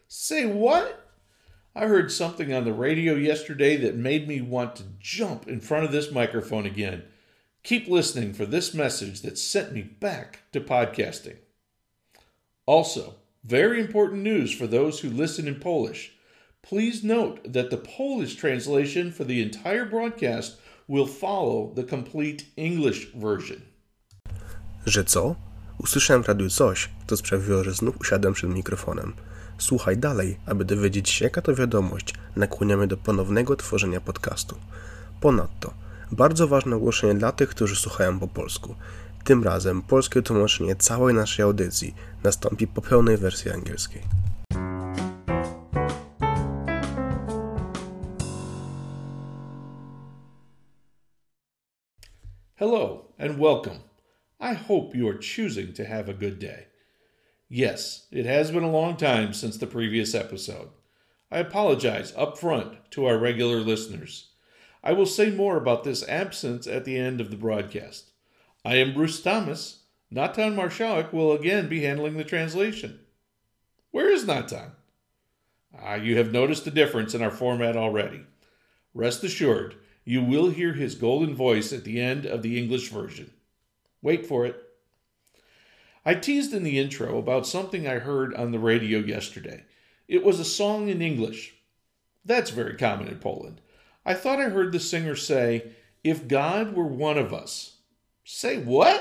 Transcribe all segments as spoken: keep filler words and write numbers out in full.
Say what? I heard something on the radio yesterday that made me want to jump in front of this microphone again. Keep listening for this message that sent me back to podcasting. Also, very important news for those who listen in Polish. Please note that the Polish translation for the entire broadcast will follow the complete English version. Że co? Usłyszałem w radiu coś, co sprawiło, że znów usiadłem przed mikrofonem. Słuchaj dalej, aby dowiedzieć się, jaka to wiadomość nakłania mnie do ponownego tworzenia podcastu. Ponadto, bardzo ważne ogłoszenie dla tych, którzy słuchają po polsku. Tym razem polskie tłumaczenie całej naszej audycji nastąpi po pełnej wersji angielskiej. Hello and welcome. I hope you are choosing to have a good day. Yes, it has been a long time since the previous episode. I apologize up front to our regular listeners. I will say more about this absence at the end of the broadcast. I am Bruce Thomas. Natan Marszałek will again be handling the translation. Where is Natan? Ah, you have noticed a difference in our format already. Rest assured, you will hear his golden voice at the end of the English version. Wait for it. I teased in the intro about something I heard on the radio yesterday. It was a song in English. That's very common in Poland. I thought I heard the singer say, "If God were one of us." Say what?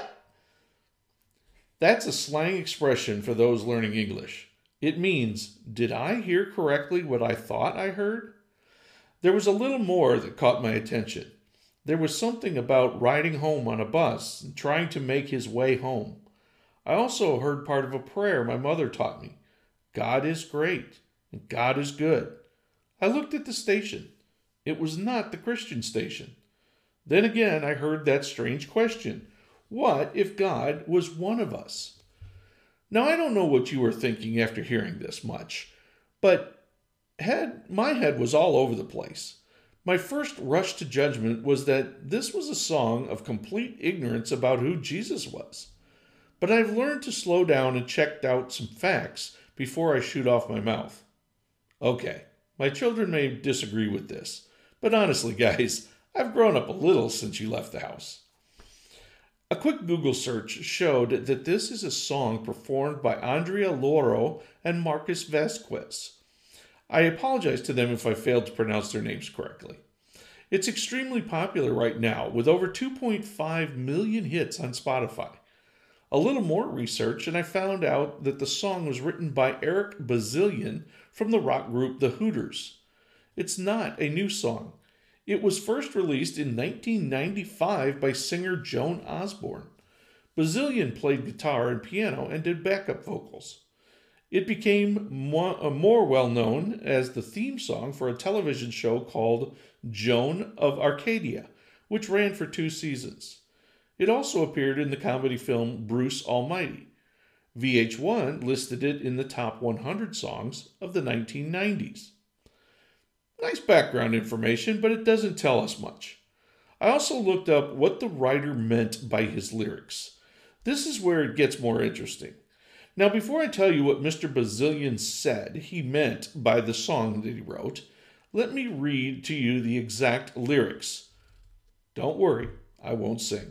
That's a slang expression for those learning English. It means, did I hear correctly what I thought I heard? There was a little more that caught my attention. There was something about riding home on a bus and trying to make his way home. I also heard part of a prayer my mother taught me. God is great and God is good. I looked at the station. It was not the Christian station. Then again, I heard that strange question. What if God was one of us? Now, I don't know what you were thinking after hearing this much, but head, my head was all over the place. My first rush to judgment was that this was a song of complete ignorance about who Jesus was. But I've learned to slow down and check out some facts before I shoot off my mouth. Okay, my children may disagree with this, but honestly, guys, I've grown up a little since you left the house. A quick Google search showed that this is a song performed by Andrea Loro and Marcus Vasquez. I apologize to them if I failed to pronounce their names correctly. It's extremely popular right now, with over two point five million hits on Spotify. A little more research, and I found out that the song was written by Eric Bazilian from the rock group The Hooters. It's not a new song. It was first released in nineteen ninety-five by singer Joan Osborne. Bazilian played guitar and piano and did backup vocals. It became more, uh, more well-known as the theme song for a television show called Joan of Arcadia, which ran for two seasons. It also appeared in the comedy film Bruce Almighty. V H one listed it in the top one hundred songs of the nineteen nineties. Nice background information, but it doesn't tell us much. I also looked up what the writer meant by his lyrics. This is where it gets more interesting. Now, before I tell you what Mister Bazilian said he meant by the song that he wrote, let me read to you the exact lyrics. Don't worry, I won't sing.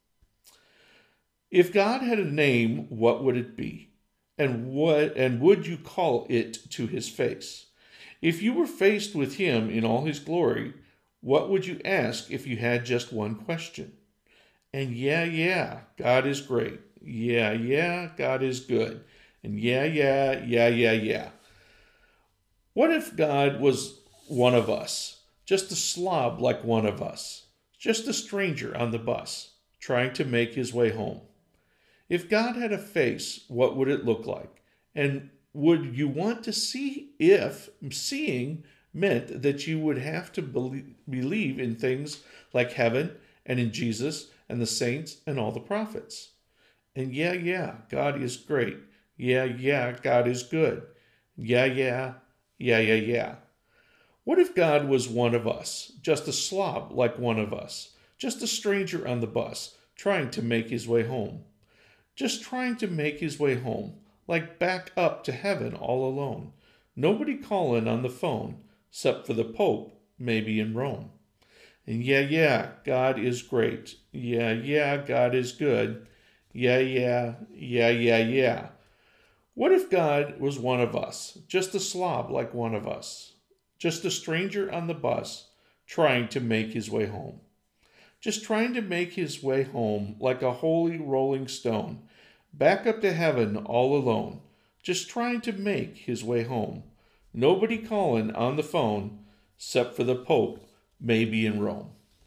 If God had a name, what would it be? And what and would you call it to his face? If you were faced with him in all his glory, what would you ask if you had just one question? And yeah, yeah, God is great. Yeah, yeah, God is good. And yeah, yeah, yeah, yeah, yeah. What if God was one of us? Just a slob like one of us. Just a stranger on the bus, trying to make his way home. If God had a face, what would it look like? And would you want to see if seeing meant that you would have to believe in things like heaven and in Jesus and the saints and all the prophets? And yeah, yeah, God is great. Yeah, yeah, God is good. Yeah, yeah, yeah, yeah, yeah. What if God was one of us, just a slob like one of us, just a stranger on the bus, trying to make his way home? Just trying to make his way home, like back up to heaven all alone, Nobody calling on the phone, except for the Pope, maybe in Rome. And yeah, yeah, God is great. Yeah, yeah, God is good. Yeah, yeah, yeah, yeah, yeah. What if God was one of us, just a slob like one of us, just a stranger on the bus trying to make his way home? Just trying to make his way home like a holy rolling stone, back up to heaven all alone, just trying to make his way home. Nobody calling on the phone, except for the Pope, maybe in Rome.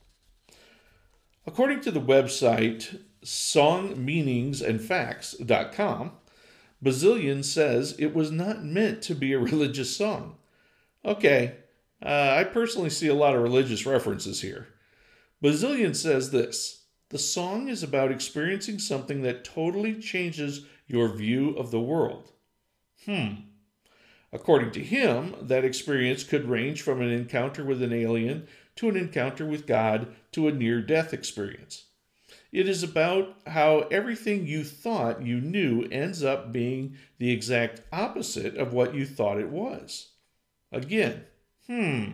According to the website song meanings and facts dot com, Bazillion says it was not meant to be a religious song. Okay, uh, I personally see a lot of religious references here. Bazillion says this: the song is about experiencing something that totally changes your view of the world. Hmm. According to him, that experience could range from an encounter with an alien to an encounter with God to a near-death experience. It is about how everything you thought you knew ends up being the exact opposite of what you thought it was. Again, hmm.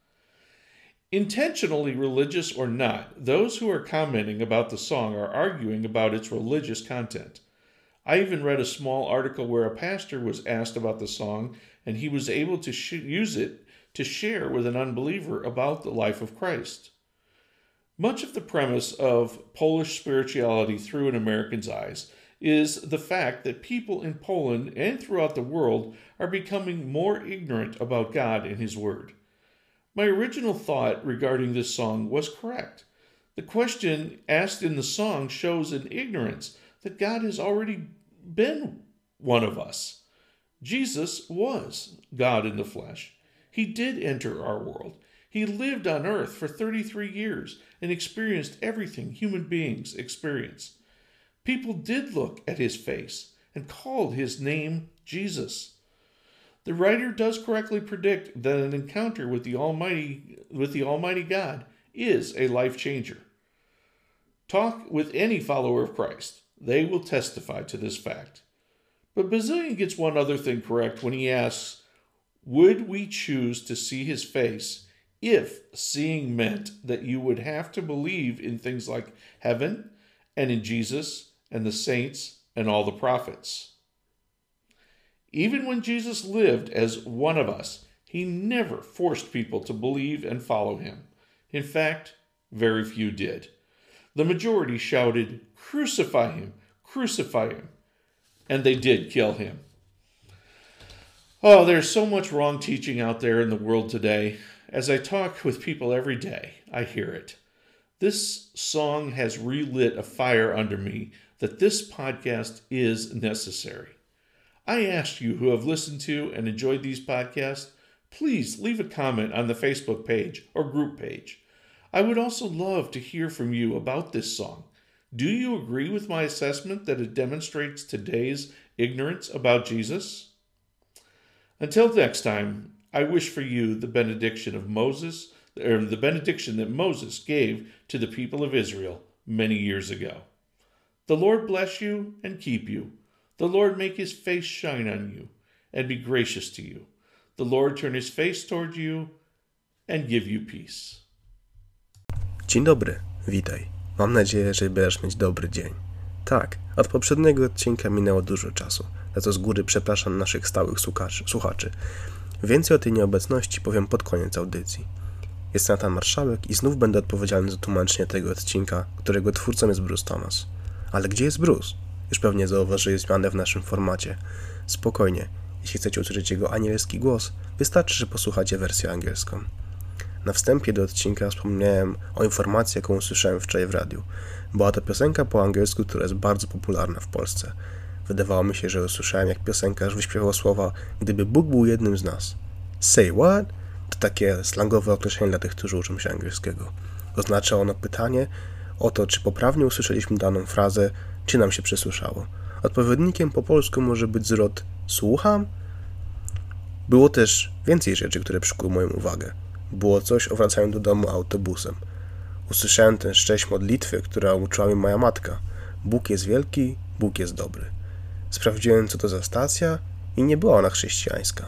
Intentionally religious or not, those who are commenting about the song are arguing about its religious content. I even read a small article where a pastor was asked about the song, and he was able to sh- use it to share with an unbeliever about the life of Christ. Much of the premise of Polish spirituality through an American's eyes is the fact that people in Poland and throughout the world are becoming more ignorant about God and His Word. My original thought regarding this song was correct. The question asked in the song shows an ignorance that God has already been one of us. Jesus was God in the flesh. He did enter our world. He lived on earth for thirty-three years and experienced everything human beings experience. People did look at his face and called his name Jesus. The writer does correctly predict that an encounter with the Almighty, with the Almighty God is a life changer. Talk with any follower of Christ. They will testify to this fact. But Bazillion gets one other thing correct when he asks, would we choose to see his face if seeing meant that you would have to believe in things like heaven and in Jesus and the saints and all the prophets? Even when Jesus lived as one of us, he never forced people to believe and follow him. In fact, very few did. The majority shouted, "Crucify him, crucify him." And they did kill him. Oh, there's so much wrong teaching out there in the world today. As I talk with people every day, I hear it. This song has relit a fire under me that this podcast is necessary. I ask you who have listened to and enjoyed these podcasts, please leave a comment on the Facebook page or group page. I would also love to hear from you about this song. Do you agree with my assessment that it demonstrates today's ignorance about Jesus? Until next time, I wish for you the benediction of Moses, or the benediction that Moses gave to the people of Israel many years ago. The Lord bless you and keep you. The Lord make his face shine on you and be gracious to you. The Lord turn his face toward you and give you peace. Dzień dobry, witaj. Mam nadzieję, że będziesz mieć dobry dzień. Tak, od poprzedniego odcinka minęło dużo czasu, za co z góry przepraszam naszych stałych słuchaczy. Więcej o tej nieobecności powiem pod koniec audycji. Jestem Natan Marszałek i znów będę odpowiedzialny za tłumaczenie tego odcinka, którego twórcą jest Bruce Thomas. Ale gdzie jest Bruce? Już pewnie zauważyłeś zmianę w naszym formacie. Spokojnie, jeśli chcecie usłyszeć jego anielski głos, wystarczy, że posłuchacie wersję angielską. Na wstępie do odcinka wspomniałem o informacji, jaką usłyszałem wczoraj w radiu. Była to piosenka po angielsku, która jest bardzo popularna w Polsce. Wydawało mi się, że usłyszałem, jak piosenkarz wyśpiewał słowa "Gdyby Bóg był jednym z nas". Say what? To takie slangowe określenie dla tych, którzy uczą się angielskiego. Oznacza ono pytanie o to, czy poprawnie usłyszeliśmy daną frazę, czy nam się przesłyszało. Odpowiednikiem po polsku może być zwrot "słucham"? Było też więcej rzeczy, które przykuły moją uwagę. Było coś o wracaniu do domu autobusem. Usłyszałem tę cześć modlitwy, która uczyła mi moja matka. Bóg jest wielki, Bóg jest dobry. Sprawdziłem, co to za stacja i nie była ona chrześcijańska.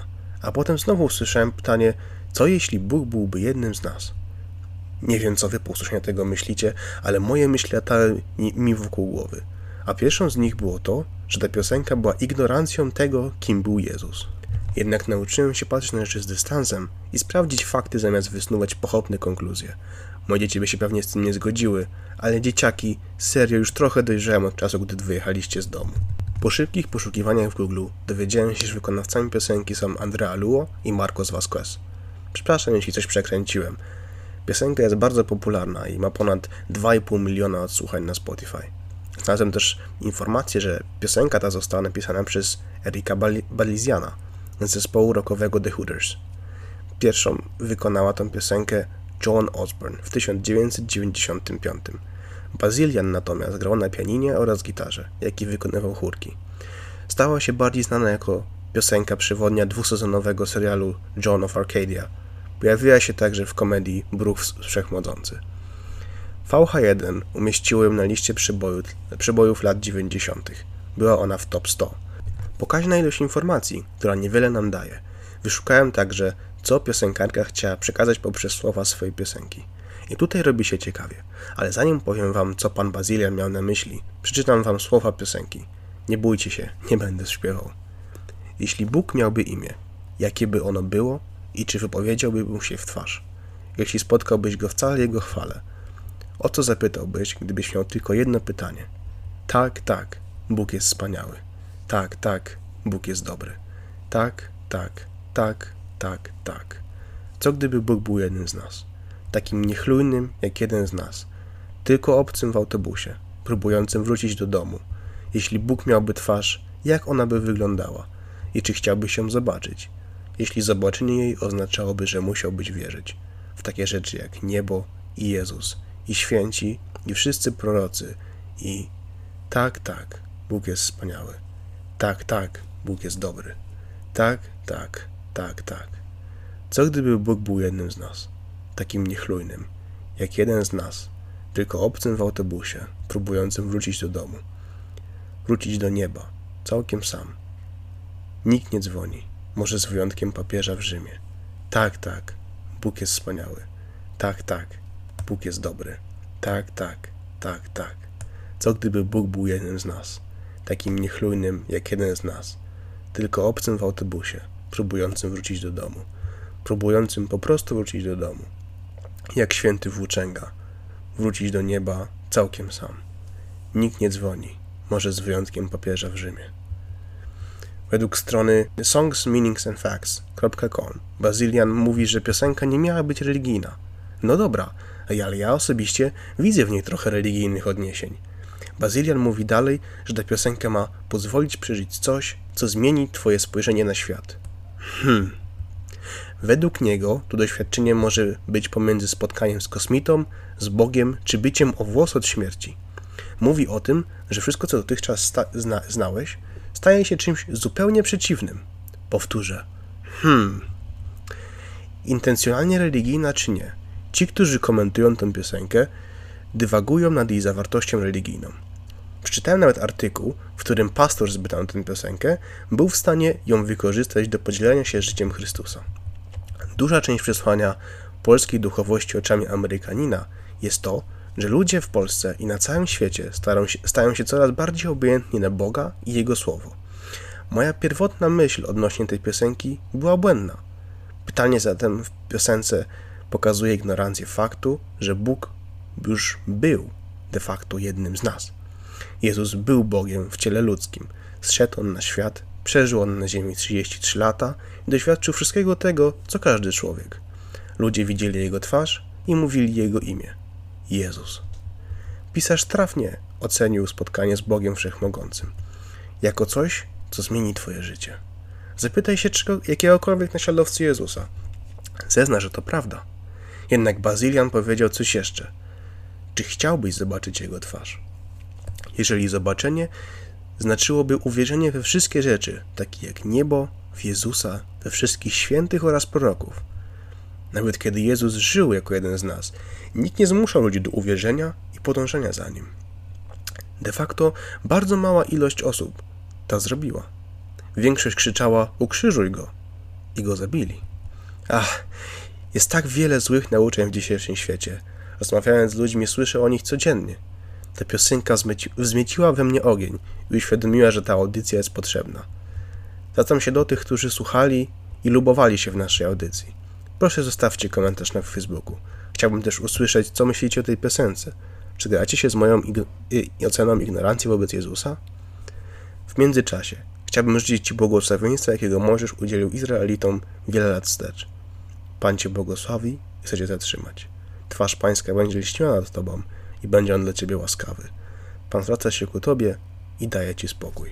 A potem znowu usłyszałem pytanie, co jeśli Bóg byłby jednym z nas? Nie wiem, co wy po usłyszeniu tego myślicie, ale moje myśli latały mi wokół głowy. A pierwszą z nich było to, że ta piosenka była ignorancją tego, kim był Jezus. Jednak nauczyłem się patrzeć na rzeczy z dystansem i sprawdzić fakty zamiast wysnuwać pochopne konkluzje. Moje dzieci by się pewnie z tym nie zgodziły, ale dzieciaki serio już trochę dojrzałem od czasu, gdy wyjechaliście z domu. Po szybkich poszukiwaniach w Google dowiedziałem się, że wykonawcami piosenki są Andrea Luo i Marcos Vasquez. Przepraszam, jeśli coś przekręciłem. Piosenka jest bardzo popularna i ma ponad dwa i pół miliona odsłuchań na Spotify. Znalazłem też informację, że piosenka ta została napisana przez Erika Baliziana z zespołu rockowego The Hooters. Pierwszą wykonała tę piosenkę Joan Osborne w tysiąc dziewięćset dziewięćdziesiątym piątym. Bazilian natomiast grał na pianinie oraz gitarze, jak i wykonywał chórki. Stała się bardziej znana jako piosenka przewodnia dwusezonowego serialu John of Arcadia. Pojawiła się także w komedii Bruch Wszechmogący. V H jeden umieściło ją na liście przebojów, przebojów lat dziewięćdziesiątych. Była ona w top sto. Pokaźna ilość informacji, która niewiele nam daje. Wyszukałem także, co piosenkarka chciała przekazać poprzez słowa swojej piosenki. I tutaj robi się ciekawie. Ale zanim powiem wam, co pan Bazilian miał na myśli, przeczytam wam słowa piosenki. Nie bójcie się, nie będę śpiewał. Jeśli Bóg miałby imię, jakie by ono było i czy wypowiedziałby mu się w twarz? Jeśli spotkałbyś go w całej jego chwale, o co zapytałbyś, gdybyś miał tylko jedno pytanie? Tak, tak, Bóg jest wspaniały. Tak, tak, Bóg jest dobry. Tak, tak, tak, tak, tak. Co gdyby Bóg był jednym z nas? Takim niechlujnym jak jeden z nas. Tylko obcym w autobusie, próbującym wrócić do domu. Jeśli Bóg miałby twarz, jak ona by wyglądała? I czy chciałbyś ją zobaczyć? Jeśli zobaczenie jej oznaczałoby, że musiałbyś wierzyć w takie rzeczy jak niebo i Jezus, i święci, i wszyscy prorocy, i tak, tak, Bóg jest wspaniały. Tak, tak, Bóg jest dobry. Tak, tak, tak, tak. Co gdyby Bóg był jednym z nas? Takim niechlujnym, jak jeden z nas, tylko obcym w autobusie, próbującym wrócić do domu. Wrócić do nieba, całkiem sam. Nikt nie dzwoni, może z wyjątkiem papieża w Rzymie. Tak, tak, Bóg jest wspaniały. Tak, tak, Bóg jest dobry. Tak, tak, tak, tak. Co gdyby Bóg był jednym z nas, takim niechlujnym jak jeden z nas, tylko obcym w autobusie, próbującym wrócić do domu. Próbującym po prostu wrócić do domu. Jak święty włóczęga, wrócić do nieba całkiem sam. Nikt nie dzwoni, może z wyjątkiem papieża w Rzymie. Według strony songs meanings and facts kropka com Bazilian mówi, że piosenka nie miała być religijna. No dobra, ale ja osobiście widzę w niej trochę religijnych odniesień. Bazilian mówi dalej, że ta piosenka ma pozwolić przeżyć coś, co zmieni twoje spojrzenie na świat. Hmm. Według niego to doświadczenie może być pomiędzy spotkaniem z kosmitą, z Bogiem, czy byciem o włos od śmierci. Mówi o tym, że wszystko, co dotychczas sta- zna- znałeś, staje się czymś zupełnie przeciwnym. Powtórzę. Hmm. Intencjonalnie religijna czy nie? Ci, którzy komentują tę piosenkę, dywagują nad jej zawartością religijną. Przeczytałem nawet artykuł, w którym pastor zbytał tę piosenkę, był w stanie ją wykorzystać do podzielenia się życiem Chrystusa. Duża część przesłania polskiej duchowości oczami Amerykanina jest to, że ludzie w Polsce i na całym świecie stają się, stają się coraz bardziej obojętni na Boga i Jego Słowo. Moja pierwotna myśl odnośnie tej piosenki była błędna. Pytanie zatem w piosence pokazuje ignorancję faktu, że Bóg już był de facto jednym z nas. Jezus był Bogiem w ciele ludzkim. Zszedł On na świat, przeżył On na ziemi trzydzieści trzy lata i doświadczył wszystkiego tego, co każdy człowiek. Ludzie widzieli Jego twarz i mówili Jego imię. Jezus. Pisarz trafnie ocenił spotkanie z Bogiem Wszechmogącym jako coś, co zmieni twoje życie. Zapytaj się czego, jakiegokolwiek naśladowcy Jezusa. Zezna, że to prawda. Jednak Bazilian powiedział coś jeszcze. Czy chciałbyś zobaczyć Jego twarz? Jeżeli zobaczenie znaczyłoby uwierzenie we wszystkie rzeczy, takie jak niebo, w Jezusa, we wszystkich świętych oraz proroków. Nawet kiedy Jezus żył jako jeden z nas, nikt nie zmuszał ludzi do uwierzenia i podążania za Nim. De facto bardzo mała ilość osób to zrobiła. Większość krzyczała: ukrzyżuj Go. i go zabili. Ach, jest tak wiele złych nauczeń w dzisiejszym świecie. Rozmawiając z ludźmi, słyszę o nich codziennie. Ta piosenka wzmieci- wzmieciła we mnie ogień i uświadomiła, że ta audycja jest potrzebna. Zwracam się do tych, którzy słuchali i lubowali się w naszej audycji. Proszę zostawcie komentarz na Facebooku. Chciałbym też usłyszeć, co myślicie o tej piosence. Czy zgadzacie się z moją ig- i oceną ignorancji wobec Jezusa? W międzyczasie chciałbym życzyć Ci błogosławieństwa, jakiego Mojżesz udzielił Izraelitom wiele lat wstecz. Pan Cię błogosławi i chce Cię zatrzymać. Twarz Pańska będzie lśniła nad Tobą i będzie On dla Ciebie łaskawy. Pan zwraca się ku Tobie i daje Ci spokój.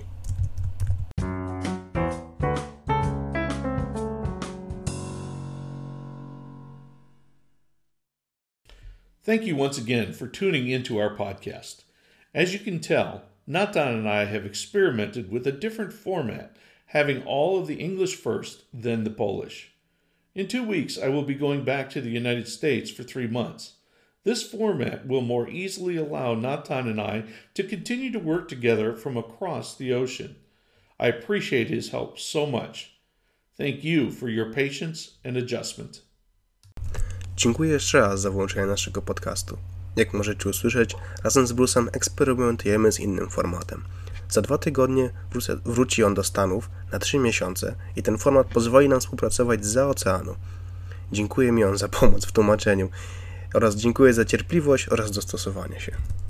Thank you once again for tuning into our podcast. As you can tell, Natan and I have experimented with a different format, having all of the English first, then the Polish. In two weeks, I will be going back to the United States for three months. This format will more easily allow Natan and I to continue to work together from across the ocean. I appreciate his help so much. Thank you for your patience and adjustment. Dziękuję jeszcze raz za włączenie naszego podcastu. Jak możecie usłyszeć, razem z Bruce'em eksperymentujemy z innym formatem. Za dwa tygodnie wrócę, wróci on do Stanów na trzy miesiące i ten format pozwoli nam współpracować zza oceanu. Dziękuję mi on za pomoc w tłumaczeniu oraz dziękuję za cierpliwość oraz dostosowanie się.